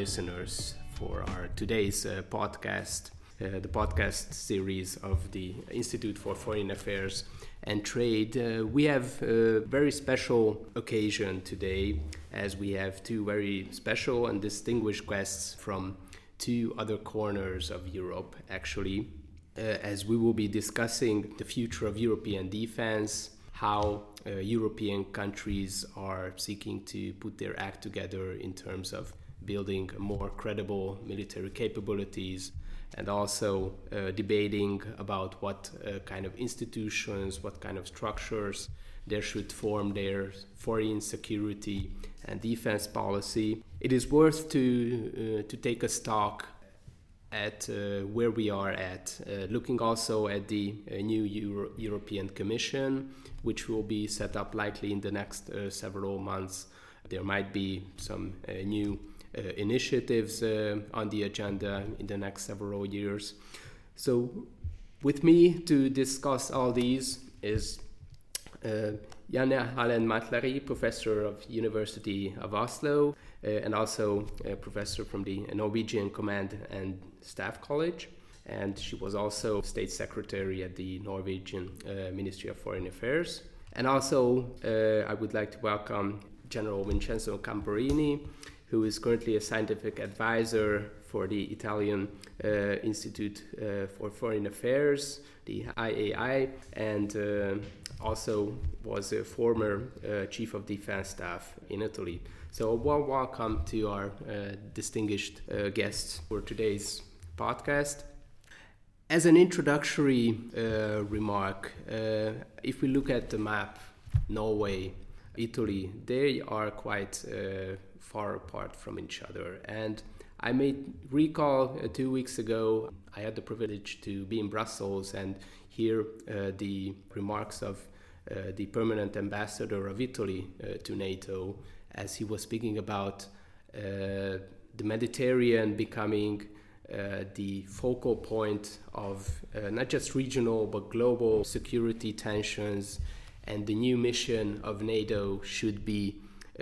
listeners for our today's podcast, the podcast series of the Institute for Foreign Affairs and Trade. We have a very special occasion today, as we have two very special and distinguished guests from two other corners of Europe, actually, as we will be discussing the future of European defense, how European countries are seeking to put their act together in terms of building more credible military capabilities, and also debating about what kind of institutions, what kind of structures there should form their foreign security and defense policy. It is worth to take a stock at where we are at, looking also at the new European Commission, which will be set up likely in the next several months. There might be some new initiatives on the agenda in the next several years. So with me to discuss all these is Janne Hallen Matlary, professor of University of Oslo, and also a professor from the Norwegian Command and Staff College. And she was also state secretary at the Norwegian Ministry of Foreign Affairs. And also I would like to welcome General Vincenzo Camporini, who is currently a scientific advisor for the Italian Institute for Foreign Affairs, the IAI, and also was a former chief of defense staff in Italy. So a warm welcome to our distinguished guests for today's podcast. As an introductory remark, if we look at the map, Norway, Italy, they are quite far apart from each other. And I may recall 2 weeks ago, I had the privilege to be in Brussels and hear the remarks of the permanent ambassador of Italy to NATO, as he was speaking about the Mediterranean becoming the focal point of not just regional but global security tensions, and the new mission of NATO should be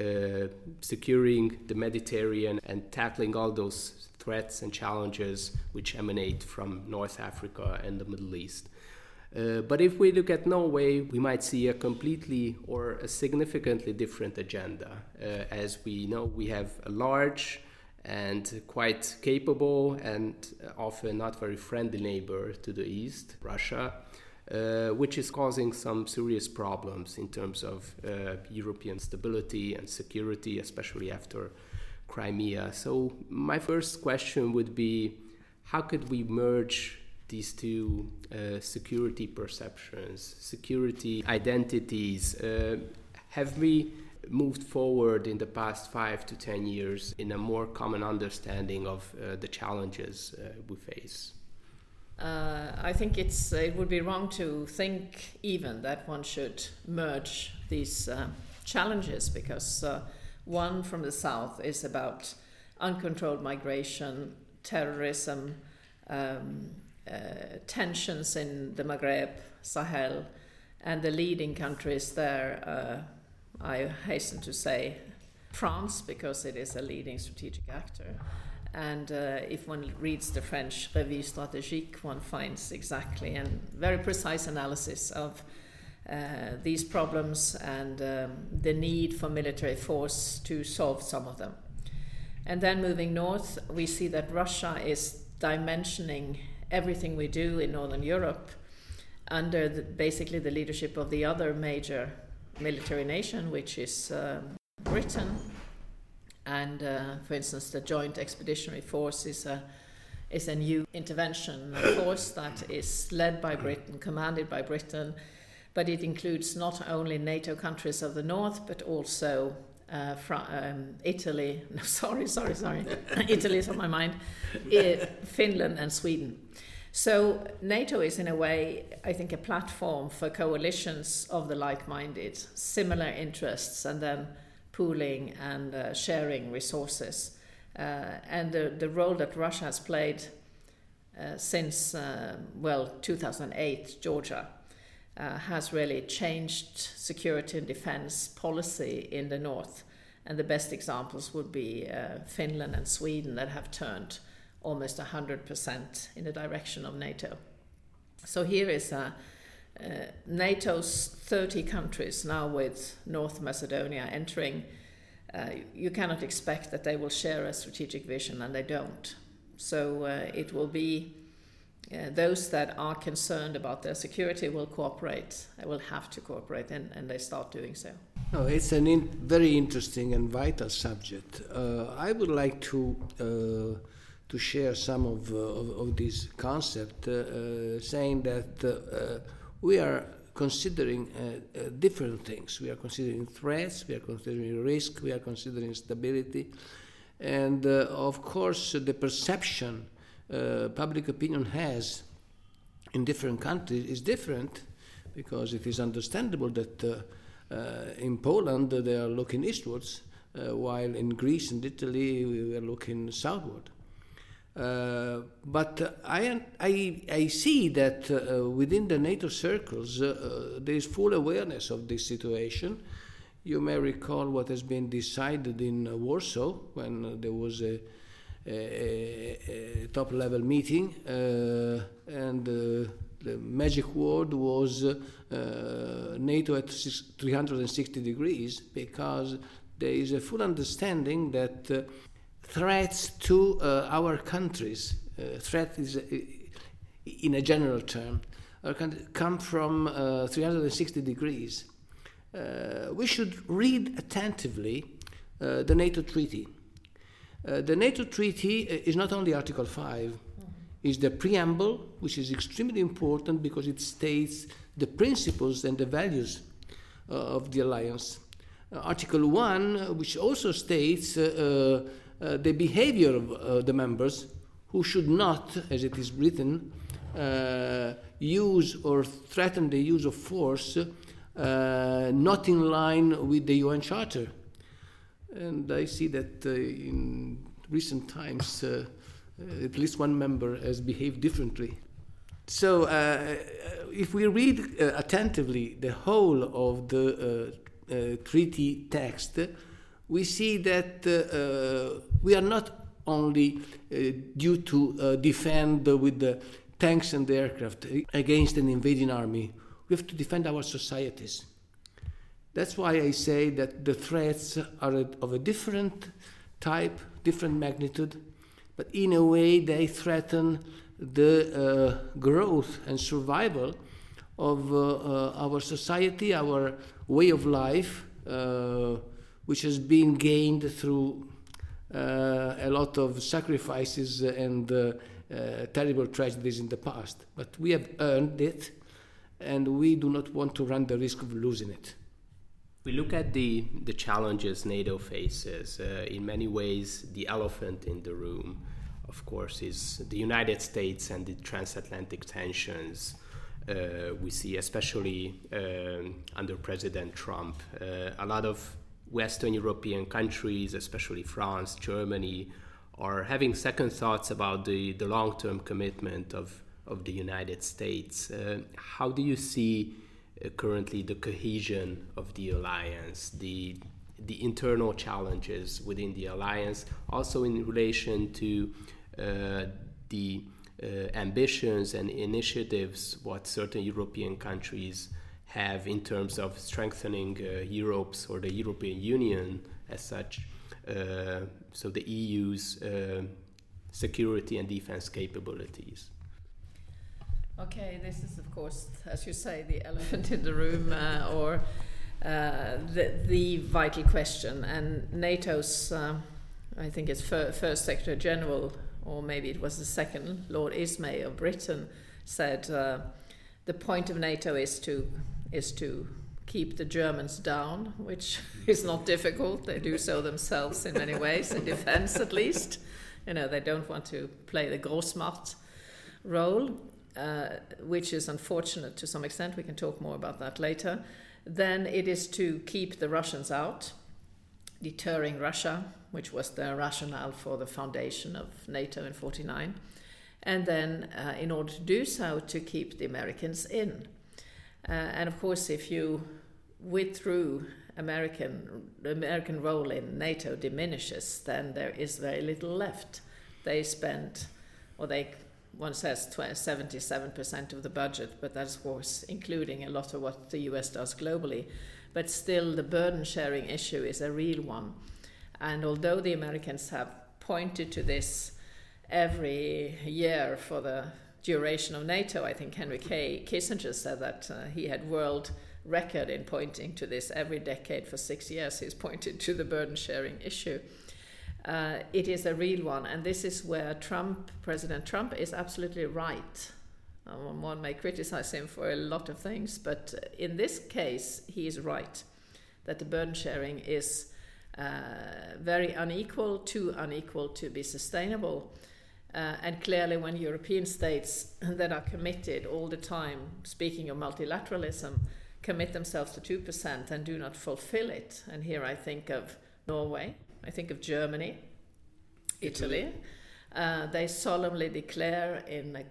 securing the Mediterranean and tackling all those threats and challenges which emanate from North Africa and the Middle East. But if we look at Norway, we might see a completely or a significantly different agenda. As we know, we have a large and quite capable and often not very friendly neighbor to the east, Russia, which is causing some serious problems in terms of European stability and security, especially after Crimea. So my first question would be, how could we merge these two security perceptions, security identities? Have we moved forward in the past 5 to 10 years in a more common understanding of the challenges we face? I think it would be wrong to think even that one should merge these challenges, because one from the south is about uncontrolled migration, terrorism, tensions in the Maghreb, Sahel, and the leading countries there, I hasten to say France, because it is a leading strategic actor. And if one reads the French Revue Stratégique, one finds exactly and very precise analysis of these problems and the need for military force to solve some of them. And then moving north, we see that Russia is dimensioning everything we do in Northern Europe under basically the leadership of the other major military nation, which is Britain. And for instance, the Joint Expeditionary Force is a new intervention force that is led by Britain, commanded by Britain, but it includes not only NATO countries of the north, but also Italy. No, sorry. Italy is on my mind. Finland and Sweden. So NATO is in a way, I think, a platform for coalitions of the like-minded, similar interests, and then pooling and sharing resources. And the role that Russia has played since 2008, Georgia, has really changed security and defense policy in the north. And the best examples would be Finland and Sweden that have turned almost 100% in the direction of NATO. So here is NATO's 30 countries now with North Macedonia entering. You cannot expect that they will share a strategic vision, and they don't. So it will be those that are concerned about their security will cooperate, will have to cooperate, and they start doing so. No, it's a very interesting and vital subject. I would like to share some of this concept, saying that we are considering different things. We are considering threats, we are considering risk, we are considering stability, and of course the perception public opinion has in different countries is different, because it is understandable that in Poland they are looking eastwards, while in Greece and Italy we are looking southward. But I see that within the NATO circles there is full awareness of this situation. You may recall what has been decided in Warsaw when there was a top-level meeting, and the magic word was NATO at 360 degrees, because there is a full understanding that threats to our countries, threat is in a general term, come from 360 degrees. We should read attentively the NATO treaty. The NATO treaty is not only Article 5, it's the preamble, which is extremely important because it states the principles and the values of the alliance. Article 1, which also states the behavior of the members, who should not, as it is written, use or threaten the use of force not in line with the UN Charter. And I see that in recent times at least one member has behaved differently. So if we read attentively the whole of the treaty text, we see that we are not only due to defend with the tanks and the aircraft against an invading army. We have to defend our societies. That's why I say that the threats are of a different type, different magnitude, but in a way they threaten the growth and survival of our society, our way of life, which has been gained through a lot of sacrifices and terrible tragedies in the past. But we have earned it, and we do not want to run the risk of losing it. We look at the challenges NATO faces. In many ways, the elephant in the room, of course, is the United States and the transatlantic tensions. We see, especially under President Trump, a lot of Western European countries, especially France, Germany, are having second thoughts about the long-term commitment of the United States. How do you see currently the cohesion of the alliance, the internal challenges within the alliance, also in relation to the ambitions and initiatives what certain European countries have in terms of strengthening Europe's or the European Union as such, so the EU's security and defense capabilities? Okay, this is of course, as you say, the elephant in the room, or the vital question. And NATO's, I think it's first Secretary General, or maybe it was the second, Lord Ismay of Britain, said the point of NATO is to keep the Germans down, which is not difficult. They do so themselves in many ways, in defense at least. You know, they don't want to play the Großmacht role. Which is unfortunate to some extent. We can talk more about that later. Then it is to keep the Russians out, deterring Russia, which was the rationale for the foundation of NATO in 1949. And then, in order to do so, to keep the Americans in. And of course, if you withdrew the American role in NATO diminishes, then there is very little left. They spend, one says 77% of the budget, but that's of course including a lot of what the US does globally. But still, the burden sharing issue is a real one. And although the Americans have pointed to this every year for the duration of NATO, I think Henry Kissinger said that he had world record in pointing to this every decade for 6 years. He's pointed to the burden sharing issue. It is a real one, and this is where President Trump is absolutely right. One may criticize him for a lot of things, but in this case, he is right that the burden sharing is very unequal, too unequal to be sustainable. And clearly, when European states that are committed all the time, speaking of multilateralism, commit themselves to 2% and do not fulfill it, and here I think of Norway, I think of Germany, Italy. They solemnly declare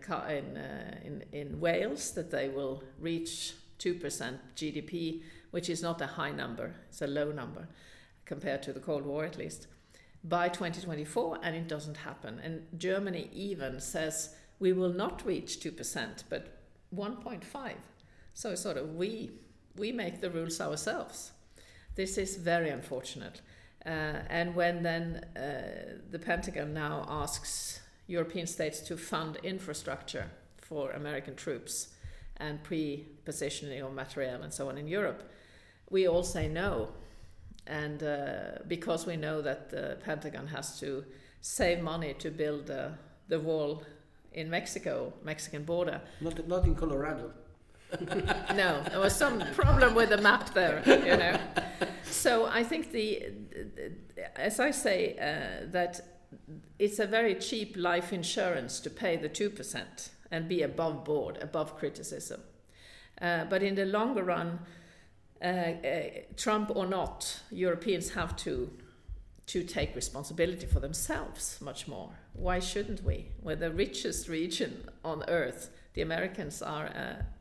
in Wales that they will reach 2% GDP, which is not a high number, it's a low number compared to the Cold War at least, by 2024, and it doesn't happen. And Germany even says we will not reach 2%, but 1.5. So sort of we make the rules ourselves. This is very unfortunate. And when then the Pentagon now asks European states to fund infrastructure for American troops and pre-positioning of materiel and so on in Europe, we all say no. And because we know that the Pentagon has to save money to build the wall in Mexican border. Not in Colorado. No, there was some problem with the map there, you know. So I think as I say, that it's a very cheap life insurance to pay the 2% and be above board, above criticism. But in the longer run, Trump or not, Europeans have to take responsibility for themselves much more. Why shouldn't we? We're the richest region on Earth. The Americans are,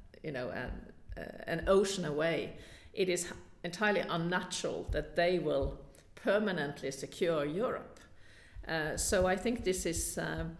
an ocean away. It is entirely unnatural that they will permanently secure Europe. So I think this is...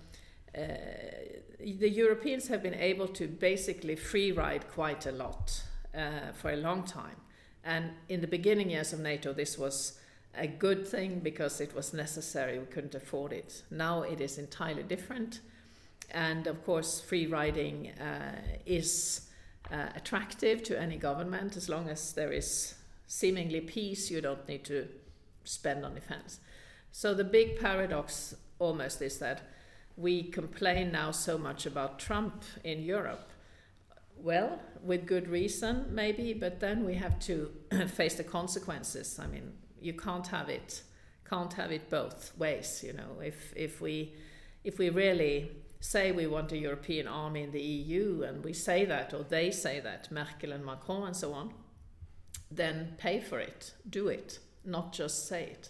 the Europeans have been able to basically free ride quite a lot for a long time. And in the beginning years of NATO, this was a good thing because it was necessary. We couldn't afford it. Now it is entirely different. And of course, free riding is attractive to any government. As long as there is seemingly peace, you don't need to spend on defense. So the big paradox almost is that we complain now so much about Trump in Europe. Well, with good reason, maybe, but then we have to face the consequences. I mean, you can't have it both ways, you know. If we really say we want a European army in the EU, and we say that, or they say that, Merkel and Macron and so on, then pay for it, do it, not just say it.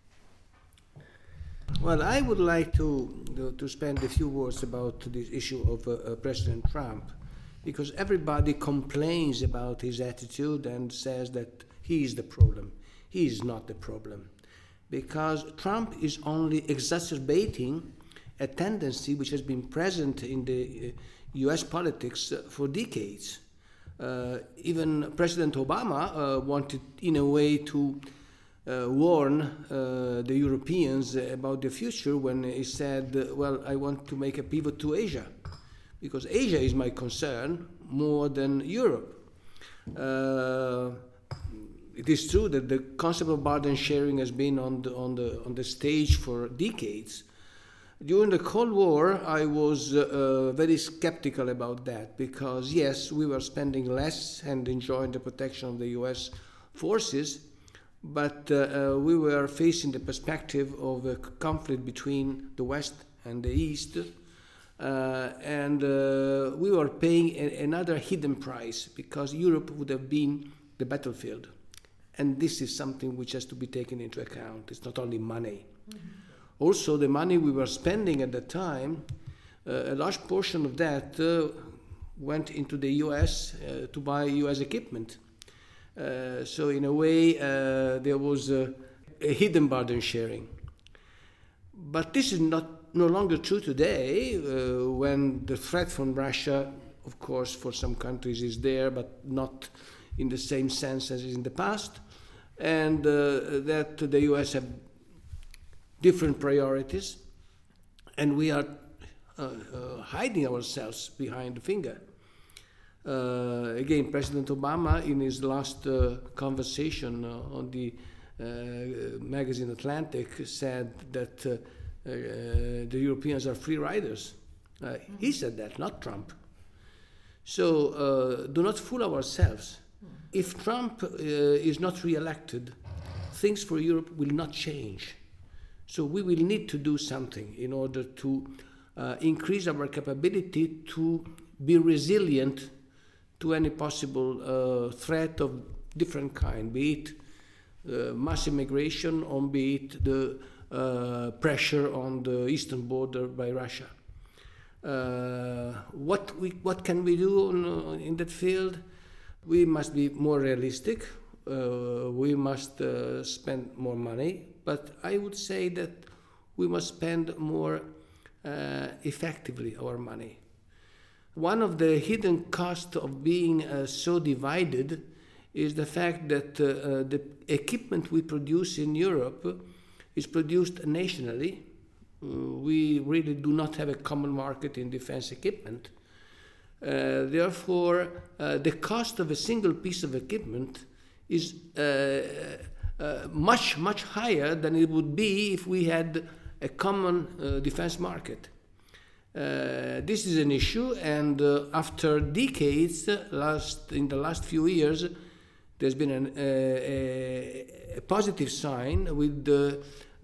Well, I would like to spend a few words about this issue of President Trump, because everybody complains about his attitude and says that he is the problem. He is not the problem, because Trump is only exacerbating a tendency which has been present in the US politics for decades. Even President Obama wanted, in a way, to warn the Europeans about the future when he said, well, I want to make a pivot to Asia, because Asia is my concern more than Europe. It is true that the concept of burden sharing has been on the stage for decades. During the Cold War, I was very skeptical about that, because yes, we were spending less and enjoying the protection of the US forces, but we were facing the perspective of a conflict between the West and the East, and we were paying another hidden price, because Europe would have been the battlefield. And this is something which has to be taken into account. It's not only money. Mm-hmm. Also, the money we were spending at that time, a large portion of that went into the US to buy US equipment. So in a way, there was a hidden burden sharing. But this is no longer true today, when the threat from Russia, of course, for some countries is there, but not in the same sense as in the past, and that the US have different priorities, and we are hiding ourselves behind the finger. Again, President Obama, in his last conversation on the magazine Atlantic, said that the Europeans are free riders. He said that, not Trump. So do not fool ourselves. If Trump is not re-elected, things for Europe will not change. So we will need to do something in order to increase our capability to be resilient to any possible threat of different kind, be it mass immigration or be it the pressure on the eastern border by Russia. What can we do in that field? We must be more realistic. We must spend more money, but I would say that we must spend more effectively our money. One of the hidden costs of being so divided is the fact that the equipment we produce in Europe is produced nationally. We really do not have a common market in defense equipment. Therefore, the cost of a single piece of equipment is much, much higher than it would be if we had a common defense market. This is an issue, and after decades, in the last few years, there's been a positive sign with the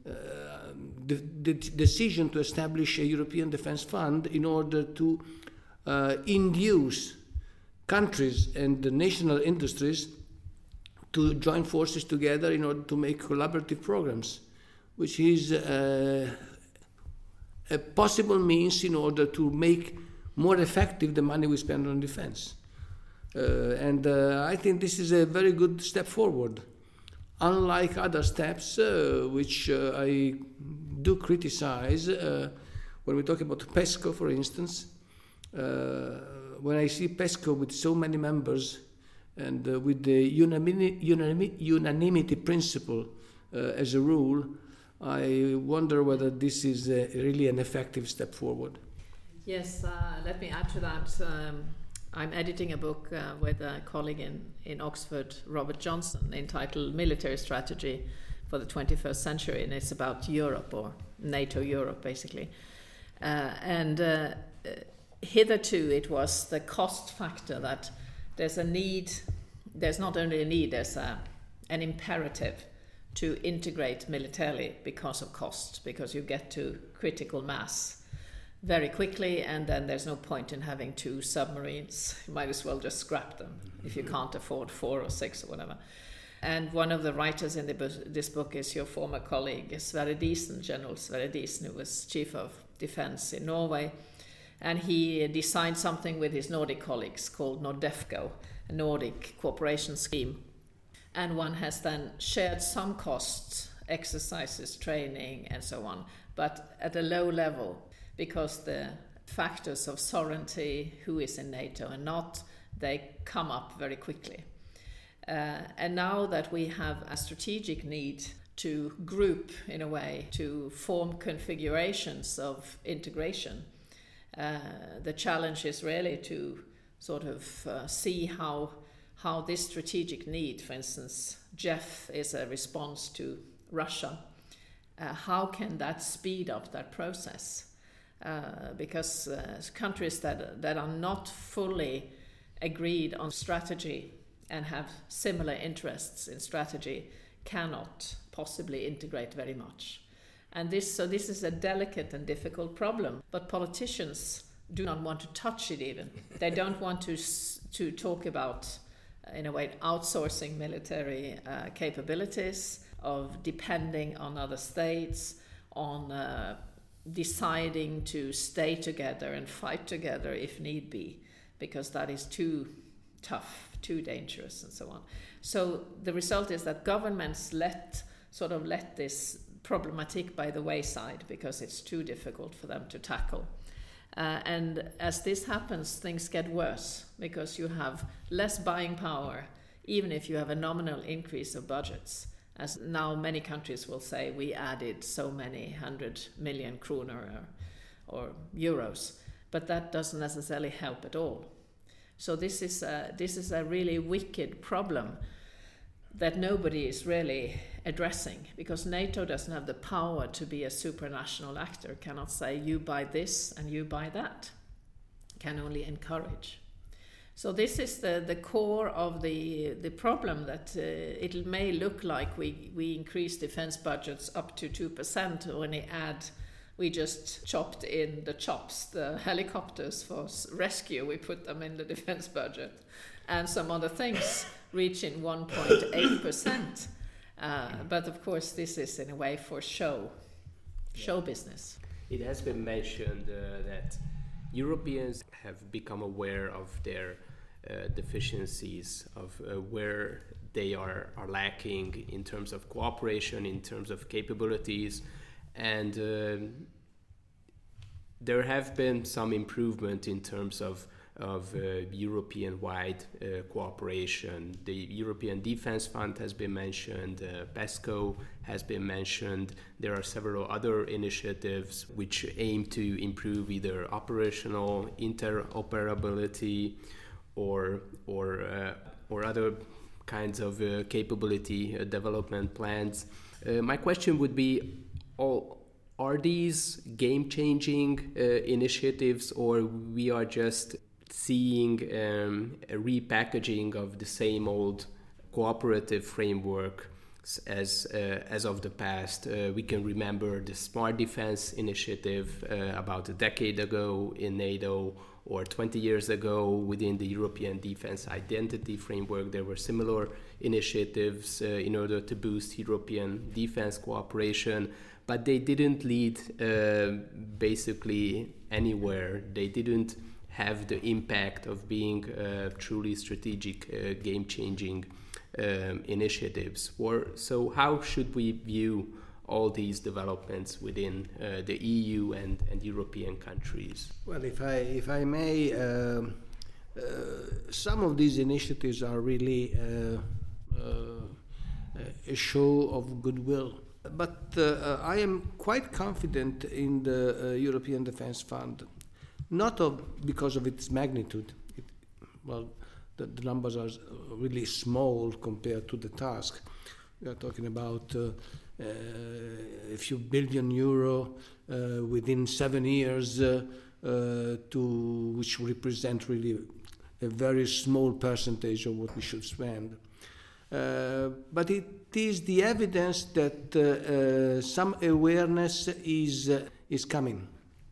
decision to establish a European Defence Fund in order to induce countries and the national industries to join forces together in order to make collaborative programs, which is a possible means in order to make more effective the money we spend on defense. And I think this is a very good step forward. Unlike other steps, which I do criticize, when we talk about PESCO, for instance, when I see PESCO with so many members and with the unanimity principle as a rule, I wonder whether this is really an effective step forward. Yes, let me add to that. I'm editing a book with a colleague in Oxford, Robert Johnson, entitled Military Strategy for the 21st Century, and it's about Europe, or NATO Europe, basically. And hitherto it was the cost factor that there's a need, there's not only a need, there's an imperative to integrate militarily because of cost, because you get to critical mass very quickly, and then there's no point in having 2 submarines. You might as well just scrap them if you can't afford 4 or 6 or whatever. And one of the writers in this book is your former colleague, Sverre Diesen, General Sverre Diesen, who was Chief of Defence in Norway. And he designed something with his Nordic colleagues called NORDEFCO, a Nordic cooperation scheme. And one has then shared some costs, exercises, training, and so on, but at a low level, because the factors of sovereignty, who is in NATO and not, they come up very quickly. And now that we have a strategic need to group, in a way, to form configurations of integration, the challenge is really to sort of see how this strategic need, for instance, JEF is a response to Russia, how can that speed up that process? Because countries that are not fully agreed on strategy and have similar interests in strategy cannot possibly integrate very much. And this is a delicate and difficult problem, but politicians do not want to touch it even. They don't want to talk about, in a way, outsourcing military capabilities, of depending on other states, on deciding to stay together and fight together if need be, because that is too tough, too dangerous, and so on. So the result is that governments let this problematic by the wayside because it's too difficult for them to tackle. And as this happens, things get worse because you have less buying power, even if you have a nominal increase of budgets. As now many countries will say, we added so many 100 million kroner or euros, but that doesn't necessarily help at all. So this is a really wicked problem that nobody is really addressing, because NATO doesn't have the power to be a supranational actor, cannot say you buy this and you buy that, can only encourage. So this is the core of the problem, that it may look like we increase defense budgets up to 2% when we just chopped in the chops, the helicopters for rescue, we put them in the defense budget, and some other things reaching 1.8%. But of course this is in a way for show business. It has been mentioned that Europeans have become aware of their deficiencies, of where they are lacking in terms of cooperation, in terms of capabilities, and there have been some improvement in terms of European-wide cooperation. The European Defence Fund has been mentioned, PESCO has been mentioned. There are several other initiatives which aim to improve either operational interoperability or other kinds of capability development plans. My question would be, are these game-changing initiatives, or we are just seeing a repackaging of the same old cooperative framework as of the past? We can remember the Smart Defense Initiative about a decade ago in NATO, or 20 years ago within the European Defense Identity Framework. There were similar initiatives in order to boost European defense cooperation, but they didn't lead basically anywhere. They didn't have the impact of being truly strategic, game-changing initiatives. So how should we view all these developments within the EU and European countries? Well, if I may, some of these initiatives are really a show of goodwill. But I am quite confident in the European Defence Fund, not because of its magnitude. The numbers are really small compared to the task. We are talking about a few billion euro within 7 years, which represent really a very small percentage of what we should spend. But it is the evidence that some awareness is coming.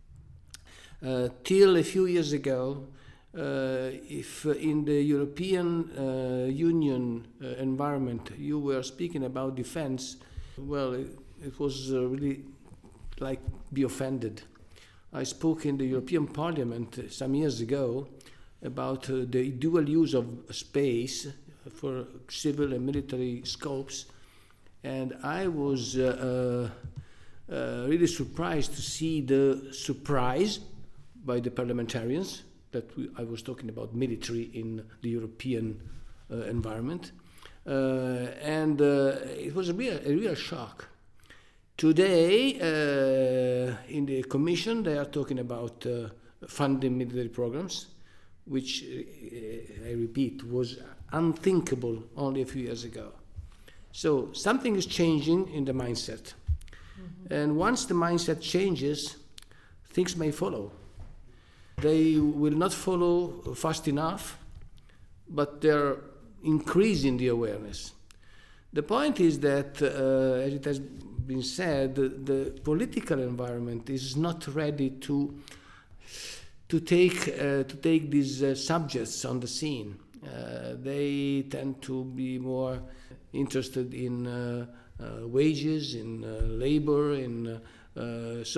Till a few years ago, if in the European Union environment you were speaking about defense, well, it was really like be offended. I spoke in the European Parliament some years ago about the dual use of space for civil and military scopes, and I was really surprised to see the surprise by the parliamentarians that I was talking about military in the European environment, and it was a real shock. Today, in the Commission, they are talking about funding military programs, which, I repeat, was unthinkable only a few years ago. So something is changing in the mindset. Mm-hmm. And once the mindset changes, things may follow. They will not follow fast enough, but they're increasing the awareness. The point is that, as it has been said, the political environment is not ready to take these subjects on the scene. They tend to be more interested in wages, in labor, in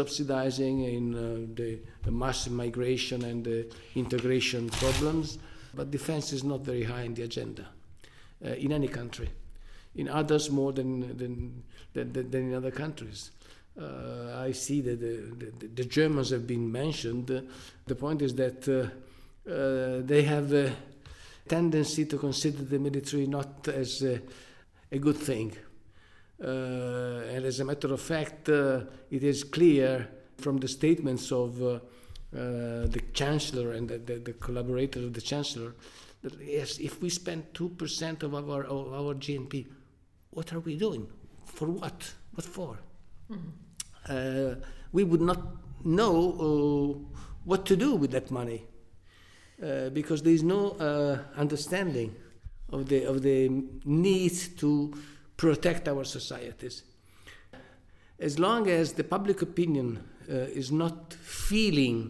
subsidizing, in the mass migration and the integration problems. But defense is not very high in the agenda in any country. In others more than in other countries. I see that the Germans have been mentioned. The point is that they have a tendency to consider the military not as a good thing. And as a matter of fact, it is clear from the statements of the Chancellor and the collaborators of the Chancellor that yes, if we spend 2% of our GNP, what are we doing? For what? What for? Mm-hmm. We would not know what to do with that money because there is no understanding of the need to protect our societies. As long as the public opinion is not feeling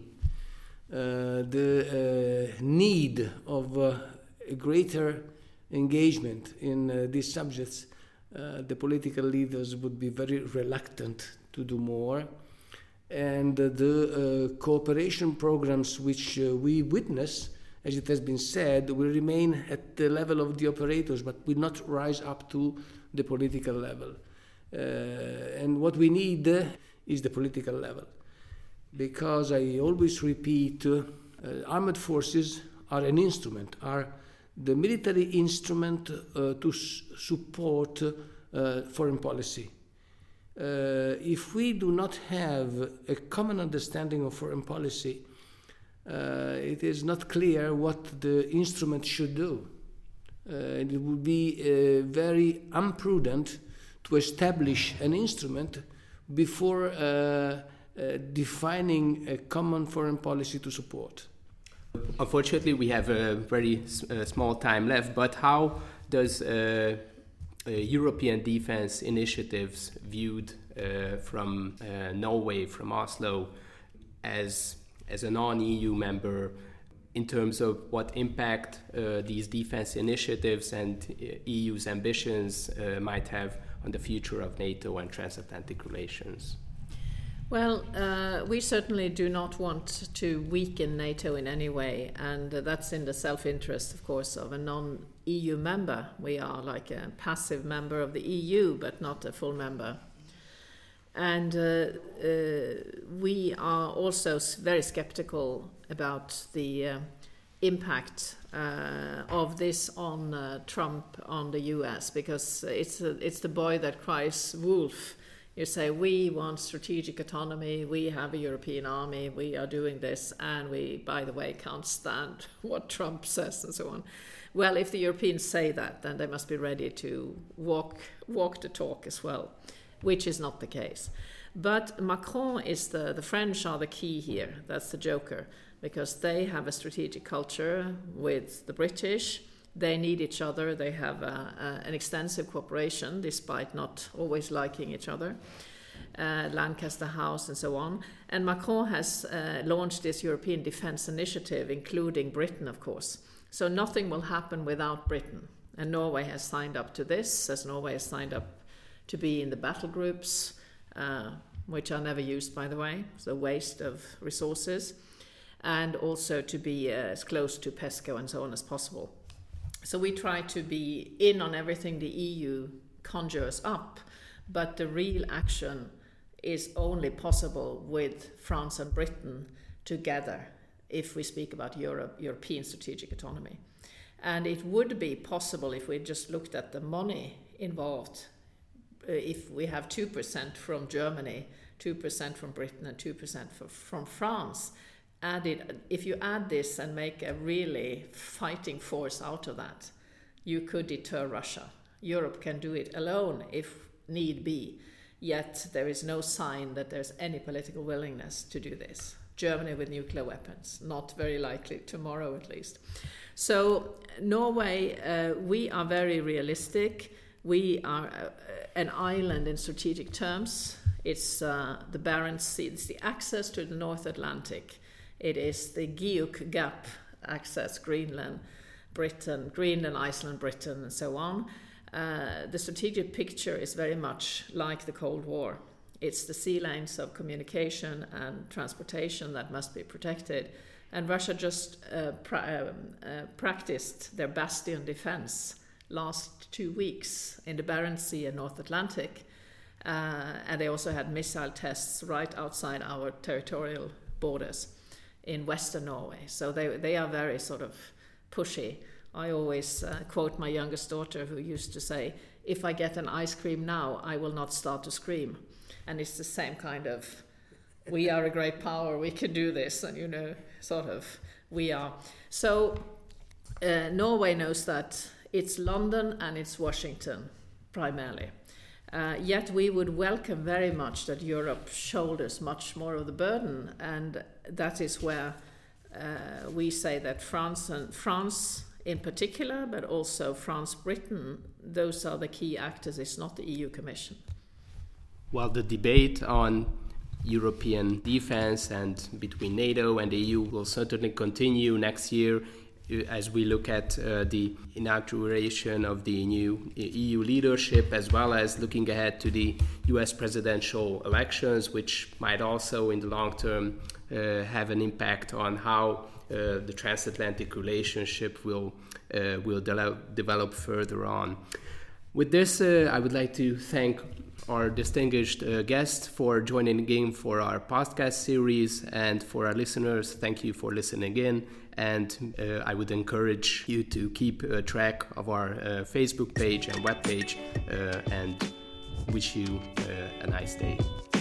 the need of a greater engagement in these subjects, the political leaders would be very reluctant to do more. And the cooperation programs which we witness, as it has been said, will remain at the level of the operators, but will not rise up to the political level. And what we need is the political level. Because I always repeat, armed forces are an instrument, are the military instrument to support foreign policy. If we do not have a common understanding of foreign policy, it is not clear what the instrument should do. It would be very imprudent to establish an instrument before defining a common foreign policy to support. Unfortunately, we have a very small time left, but how does European defense initiatives viewed from Norway, from Oslo, as a non-EU member, in terms of what impact these defense initiatives and EU's ambitions might have on the future of NATO and transatlantic relations? Well, we certainly do not want to weaken NATO in any way, and that's in the self-interest, of course, of a non-EU member. We are like a passive member of the EU, but not a full member. And we are also very skeptical about the impact of this on Trump, on the US, because it's the boy that cries wolf. You say, we want strategic autonomy, we have a European army, we are doing this, and we, by the way, can't stand what Trump says and so on. Well, if the Europeans say that, then they must be ready to walk the talk as well, which is not the case. But Macron is the French are the key here, that's the joker, because they have a strategic culture with the British. They need each other. They have an extensive cooperation, despite not always liking each other. Lancaster House and so on. And Macron has launched this European Defence Initiative, including Britain, of course. So nothing will happen without Britain. And Norway has signed up to this, as Norway has signed up to be in the battle groups, which are never used, by the way. It's a waste of resources. And also to be as close to PESCO and so on as possible. So we try to be in on everything the EU conjures up, but the real action is only possible with France and Britain together if we speak about European strategic autonomy. And it would be possible if we just looked at the money involved, if we have 2% from Germany, 2% from Britain and 2% from France. If you add this and make a really fighting force out of that, you could deter Russia. Europe can do it alone if need be, yet there is no sign that there's any political willingness to do this. Germany with nuclear weapons, not very likely tomorrow at least. So Norway, we are very realistic. We are an island in strategic terms. It's the Barents Sea, it's the access to the North Atlantic. It is the Guyuk Gap access, Greenland, Iceland, Britain, and so on. The strategic picture is very much like the Cold War. It's the sea lanes of communication and transportation that must be protected, And Russia just practiced their bastion defense last 2 weeks in the Barents Sea and North Atlantic. And they also had missile tests right outside our territorial borders in Western Norway. So they are very sort of pushy. I always quote my youngest daughter, who used to say, "If I get an ice cream now, I will not start to scream." And it's the same kind of, we are a great power, we can do this, and sort of, we are. So Norway knows that it's London and it's Washington, primarily. Yet we would welcome very much that Europe shoulders much more of the burden, and that is where we say that France in particular, but also France-Britain, those are the key actors. It's not the EU Commission. Well, the debate on European defense and between NATO and the EU will certainly continue next year as we look at the inauguration of the new EU leadership, as well as looking ahead to the US presidential elections, which might also in the long term have an impact on how the transatlantic relationship will develop further on. With this, I would like to thank our distinguished guest for joining again for our podcast series, and for our listeners, thank you for listening in. And I would encourage you to keep track of our Facebook page and webpage, and wish you a nice day.